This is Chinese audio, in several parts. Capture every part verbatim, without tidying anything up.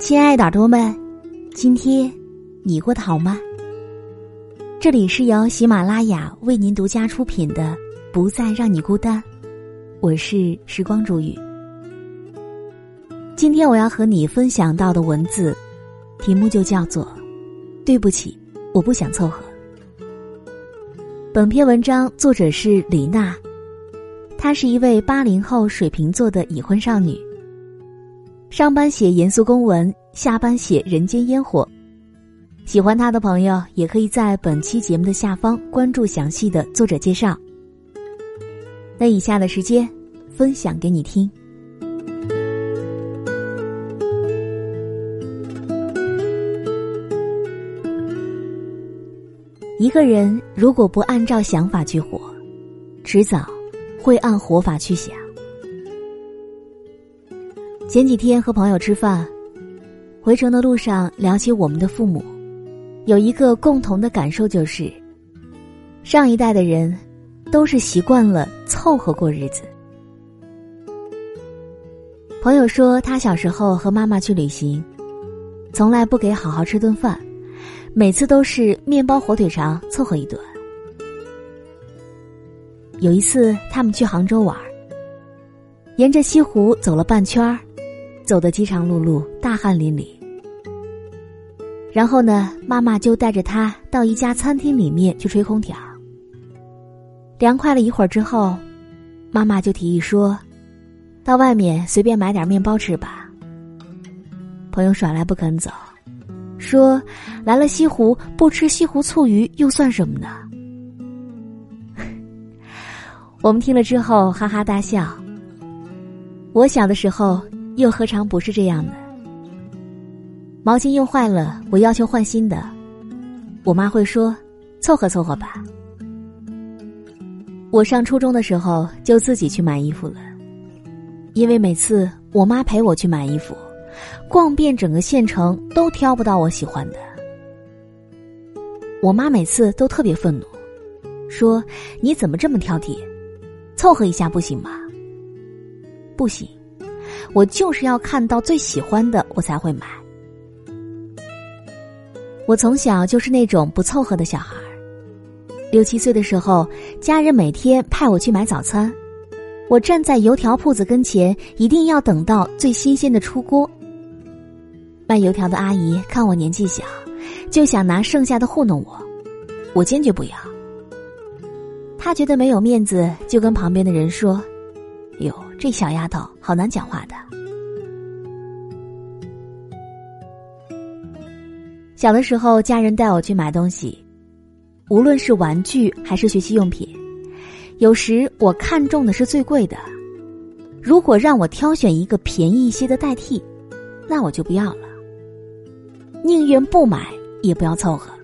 亲爱的耳朵们，今天你过得好吗？这里是由喜马拉雅为您独家出品的《不再让你孤单》，我是时光煮雨。今天我要和你分享到的文字题目就叫做对不起，我不想凑合。本篇文章作者是李娜，她是一位八零后水瓶座的已婚少女，上班写严肃公文，下班写人间烟火。喜欢她的朋友也可以在本期节目的下方关注详细的作者介绍。那以下的时间分享给你听。一个人如果不按照想法去活，迟早会按活法去想。前几天和朋友吃饭，回程的路上聊起我们的父母，有一个共同的感受，就是上一代的人都是习惯了凑合过日子。朋友说他小时候和妈妈去旅行，从来不给好好吃顿饭，每次都是面包火腿肠凑合一顿。有一次他们去杭州玩，沿着西湖走了半圈，走得饥肠辘辘，大汗淋漓。然后呢，妈妈就带着他到一家餐厅里面去吹空调。凉快了一会儿之后，妈妈就提议说，到外面随便买点面包吃吧。朋友耍赖不肯走，说来了西湖不吃西湖醋鱼又算什么呢？我们听了之后哈哈大笑。我小的时候又何尝不是这样的？毛巾用坏了，我要求换新的，我妈会说凑合凑合吧。我上初中的时候就自己去买衣服了，因为每次我妈陪我去买衣服，逛遍整个县城都挑不到我喜欢的。我妈每次都特别愤怒，说你怎么这么挑剔，凑合一下不行吗？不行，我就是要看到最喜欢的我才会买。我从小就是那种不凑合的小孩，六七岁的时候，家人每天派我去买早餐，我站在油条铺子跟前，一定要等到最新鲜的出锅。卖油条的阿姨看我年纪小，就想拿剩下的糊弄我，我坚决不要。她觉得没有面子，就跟旁边的人说，哟，这小丫头好难讲话的。小的时候，家人带我去买东西，无论是玩具还是学习用品，有时我看中的是最贵的，如果让我挑选一个便宜一些的代替，那我就不要了，宁愿不买也不要凑合。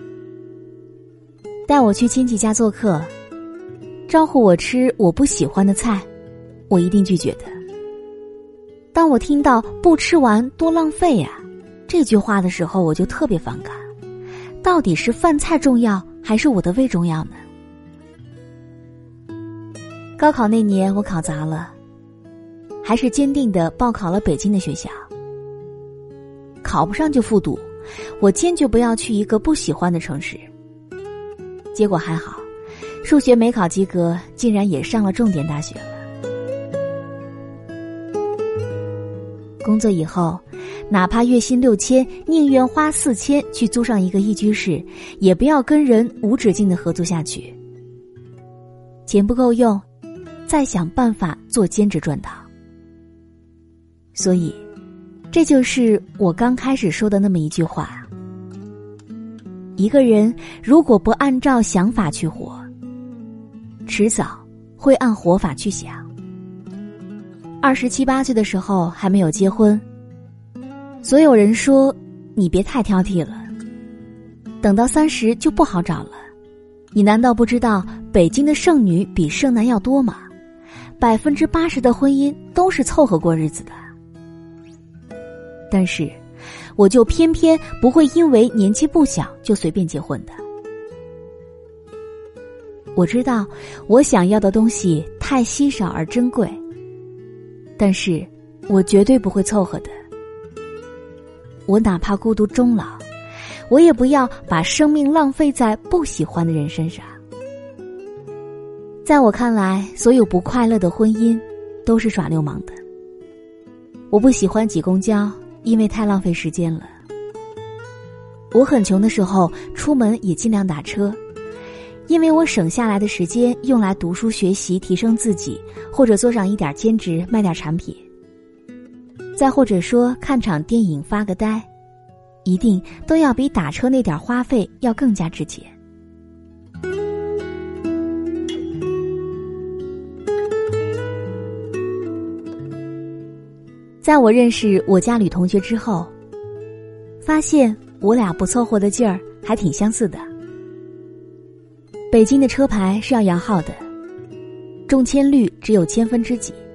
带我去亲戚家做客，招呼我吃我不喜欢的菜，我一定拒绝的。当我听到不吃完多浪费呀、啊这句话的时候，我就特别反感，到底是饭菜重要还是我的胃重要呢？高考那年我考砸了，还是坚定地报考了北京的学校。考不上就复读，我坚决不要去一个不喜欢的城市。结果还好，数学没考及格，竟然也上了重点大学了。工作以后，哪怕月薪六千，宁愿花四千去租上一个一居室，也不要跟人无止境的合租下去。钱不够用，再想办法做兼职赚到。所以，这就是我刚开始说的那么一句话：一个人如果不按照想法去活，迟早会按活法去想。二十七八岁的时候还没有结婚，所有人说你别太挑剔了，等到三十就不好找了。你难道不知道北京的剩女比剩男要多吗？百分之八十的婚姻都是凑合过日子的。但是，我就偏偏不会因为年纪不小就随便结婚的。我知道我想要的东西太稀少而珍贵，但是我绝对不会凑合的。 我哪怕孤独终老，我也不要把生命浪费在不喜欢的人身上。在我看来，所有不快乐的婚姻都是耍流氓的。我不喜欢挤公交，因为太浪费时间了。我很穷的时候，出门也尽量打车，因为我省下来的时间用来读书学习，提升自己，或者做上一点兼职，卖点产品。再或者说看场电影发个呆，一定都要比打车那点花费要更加值钱。在我认识我家吕同学之后，发现我俩不凑合的劲儿还挺相似的。北京的车牌是要摇号的，中签率只有千分之几。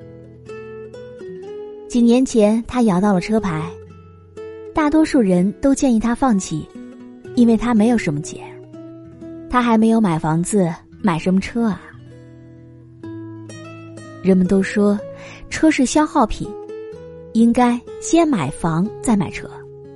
几年前他摇到了车牌，大多数人都建议他放弃，因为他没有什么钱，他还没有买房子，买什么车啊？人们都说车是消耗品，应该先买房再买车。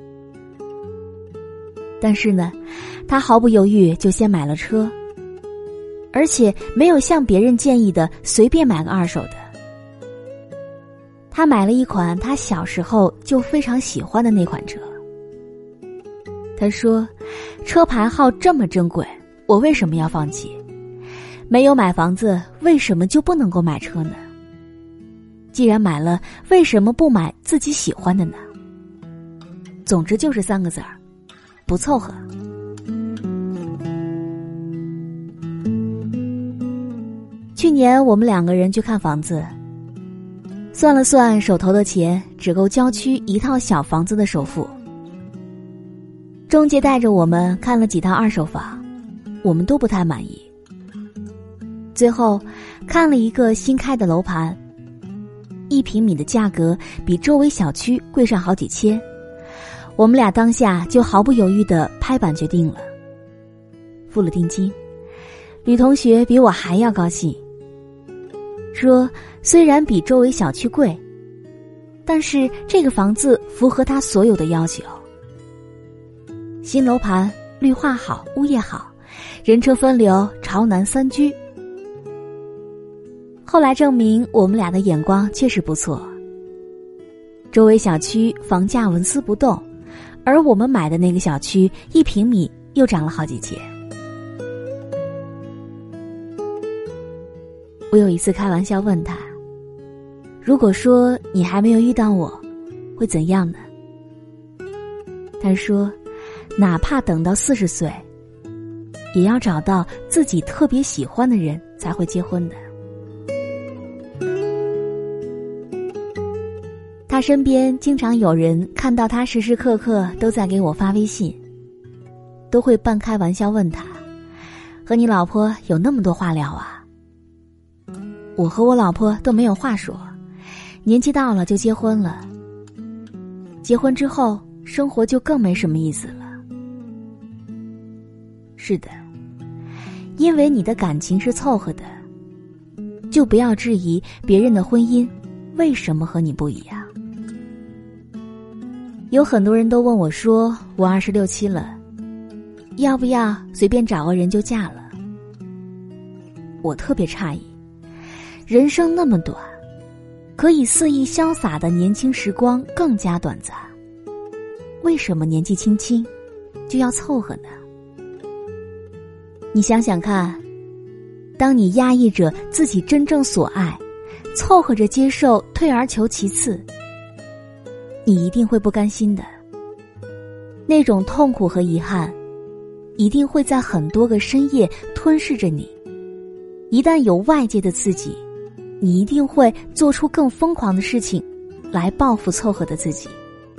但是呢，他毫不犹豫就先买了车，而且没有像别人建议的随便买个二手的。他买了一款他小时候就非常喜欢的那款车。他说，车牌号这么珍贵，我为什么要放弃？没有买房子，为什么就不能够买车呢？既然买了，为什么不买自己喜欢的呢？总之就是三个字儿，不凑合。去年我们两个人去看房子，算了算手头的钱，只够郊区一套小房子的首付。中介带着我们看了几套二手房，我们都不太满意。最后看了一个新开的楼盘，一平米的价格比周围小区贵上好几千，我们俩当下就毫不犹豫地拍板决定了，付了定金。吕同学比我还要高兴，说虽然比周围小区贵，但是这个房子符合他所有的要求。新楼盘，绿化好，物业好，人车分流，朝南三居。后来证明我们俩的眼光确实不错，周围小区房价纹丝不动，而我们买的那个小区一平米又涨了好几千。我有一次开玩笑问他，如果说你还没有遇到我，会怎样呢？他说，哪怕等到四十岁，也要找到自己特别喜欢的人才会结婚的。他身边经常有人看到他时时刻刻都在给我发微信，都会半开玩笑问他，和你老婆有那么多话聊啊？我和我老婆都没有话说，年纪到了就结婚了，结婚之后生活就更没什么意思了。是的，因为你的感情是凑合的，就不要质疑别人的婚姻为什么和你不一样。有很多人都问我说，我二十六七了，要不要随便找个人就嫁了？我特别诧异，人生那么短，可以肆意潇洒的年轻时光更加短暂，为什么年纪轻轻就要凑合呢？你想想看，当你压抑着自己真正所爱，凑合着接受退而求其次，你一定会不甘心的。那种痛苦和遗憾一定会在很多个深夜吞噬着你，一旦有外界的刺激，你一定会做出更疯狂的事情来报复凑合的自己。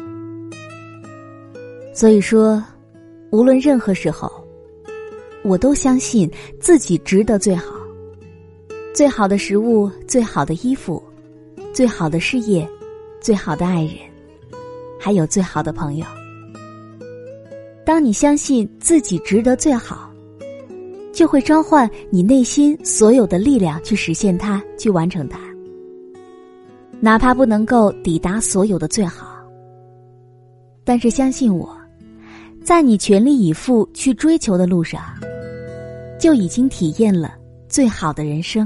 所以说，无论任何时候，我都相信自己值得最好，最好的食物，最好的衣服，最好的事业，最好的爱人，还有最好的朋友。当你相信自己值得最好，就会召唤你内心所有的力量去实现它，去完成它。哪怕不能够抵达所有的最好， 但是相信我，在你全力以赴去追求的路上，就已经体验了最好的人生。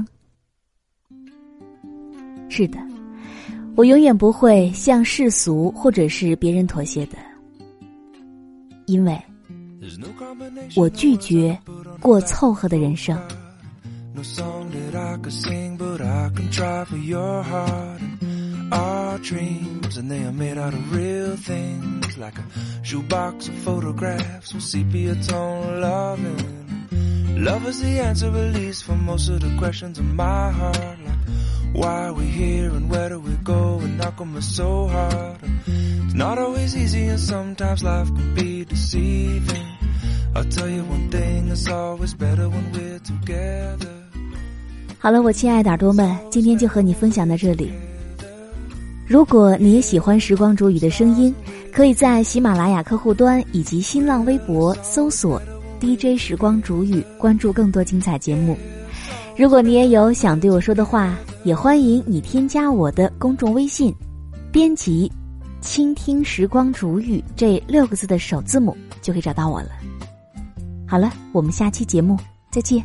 是的，我永远不会向世俗或者是别人妥协的，因为我拒绝过凑合的人生。 No song that I could sing, but I can try for your heart and our dreams, and they are made out of real things, like a shoebox of photographs with sepia tone loving. Love is the answer, at least, for most of the questions in my heart, like why are we here and where do we go, and how come it's so hard? It's not always easy, and sometimes life can be deceiving. I'll tell you one thing, it's always better when we're together. 好了，我亲爱的耳朵们，今天就和你分享到这里。如果你也喜欢时光煮雨的声音，可以在喜马拉雅客户端以及新浪微博搜索 D J 时光煮雨，关注更多精彩节目。如果你也有想对我说的话，也欢迎你添加我的公众微信，编辑倾听时光煮雨这六个字的首字母，就可以找到我了。好了，我们下期节目再见。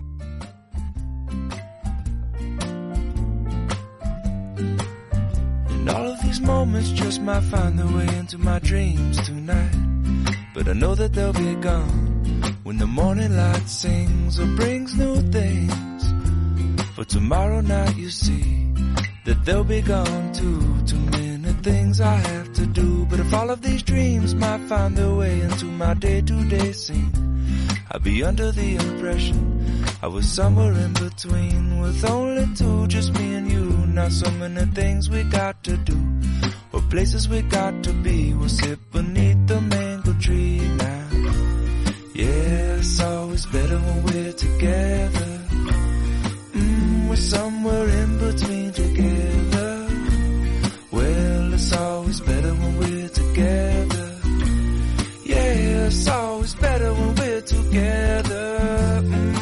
All of these moments just might find their way into my dreams tonight, but I know that they'll be gone when the morning light sings or brings new things. For tomorrow night you see that they'll be gone too. Too many things I have to do, but if all of these dreams might find their way into my day-to-day scene, I'd be under the impression I was somewhere in between, with only two, just me and you. Not so many things we got to do, or places we got to be. We'll sit beneath the mango tree now. Yeah, it's always better when we're together. Mm, we're somewhere in between together. Well, it's always better when we're together. Yeah, it's always better when we're together. Mm.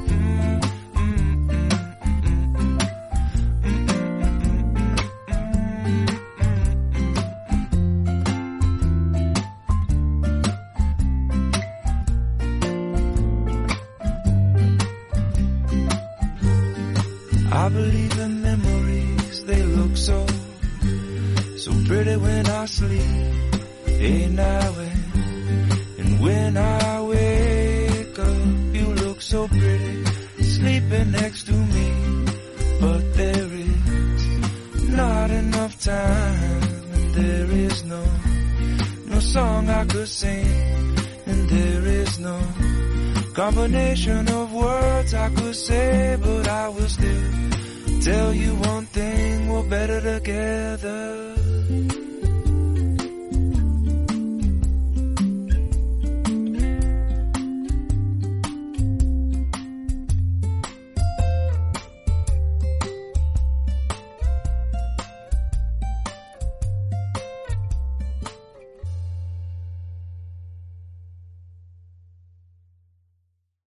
I believe in memories, they look so, so pretty when I sleep, hey now and, and when I wake up, you look so pretty, sleeping next to me, but there is not enough time, and there is no, no song I could sing, and there is no combination of words I could say, but I will still tell you one thing, we're better together.